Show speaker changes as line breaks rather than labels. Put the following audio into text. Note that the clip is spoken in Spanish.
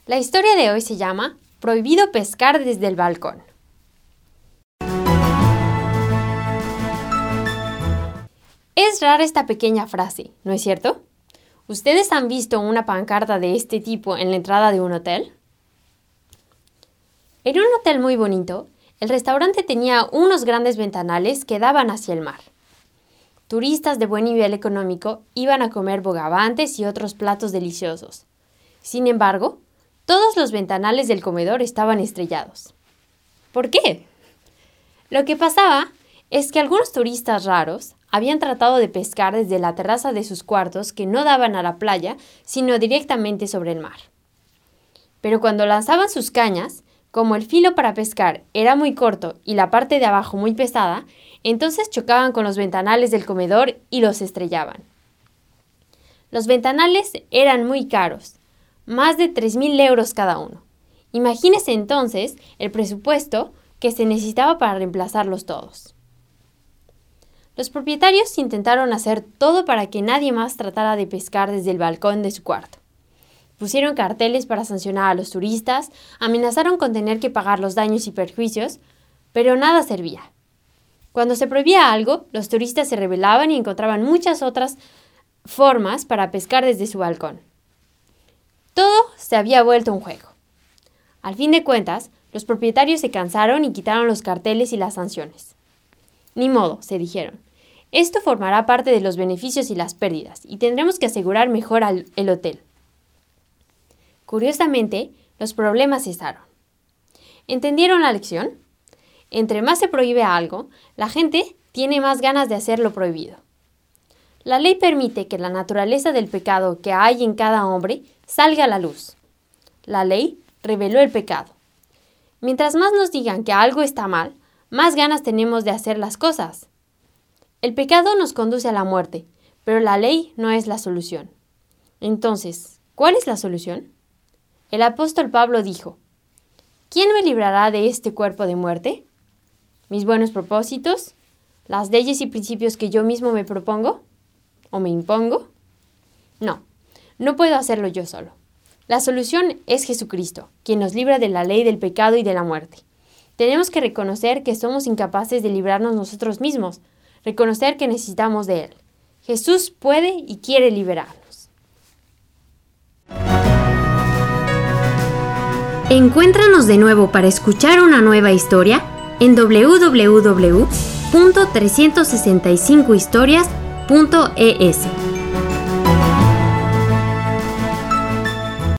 La historia de hoy se llama Prohibido pescar desde el balcón. Es rara esta pequeña frase, ¿no es cierto? ¿Ustedes han visto una pancarta de este tipo en la entrada de un hotel? En un hotel muy bonito, el restaurante tenía unos grandes ventanales que daban hacia el mar. Turistas de buen nivel económico iban a comer bogavantes y otros platos deliciosos. Sin embargo, todos los ventanales del comedor estaban estrellados. ¿Por qué? Lo que pasaba es que algunos turistas raros habían tratado de pescar desde la terraza de sus cuartos que no daban a la playa, sino directamente sobre el mar. Pero cuando lanzaban sus cañas, como el filo para pescar era muy corto y la parte de abajo muy pesada, entonces chocaban con los ventanales del comedor y los estrellaban. Los ventanales eran muy caros, más de 3.000 euros cada uno. Imagínese entonces el presupuesto que se necesitaba para reemplazarlos todos. Los propietarios intentaron hacer todo para que nadie más tratara de pescar desde el balcón de su cuarto. Pusieron carteles para sancionar a los turistas, amenazaron con tener que pagar los daños y perjuicios, pero nada servía. Cuando se prohibía algo, los turistas se rebelaban y encontraban muchas otras formas para pescar desde su balcón. Todo se había vuelto un juego. Al fin de cuentas, los propietarios se cansaron y quitaron los carteles y las sanciones. Ni modo, se dijeron. Esto formará parte de los beneficios y las pérdidas, y tendremos que asegurar mejor el hotel. Curiosamente, los problemas cesaron. ¿Entendieron la lección? Entre más se prohíbe algo, la gente tiene más ganas de hacer lo prohibido. La ley permite que la naturaleza del pecado que hay en cada hombre salga a la luz. La ley reveló el pecado. Mientras más nos digan que algo está mal, más ganas tenemos de hacer las cosas. El pecado nos conduce a la muerte, pero la ley no es la solución. Entonces, ¿cuál es la solución? El apóstol Pablo dijo: ¿Quién me librará de este cuerpo de muerte? ¿Mis buenos propósitos? ¿Las leyes y principios que yo mismo me propongo? ¿O me impongo? No, no puedo hacerlo yo solo. La solución es Jesucristo, quien nos libra de la ley del pecado y de la muerte. Tenemos que reconocer que somos incapaces de librarnos nosotros mismos, reconocer que necesitamos de Él. Jesús puede y quiere liberarnos.
Encuéntranos de nuevo para escuchar una nueva historia en www.365historias.es.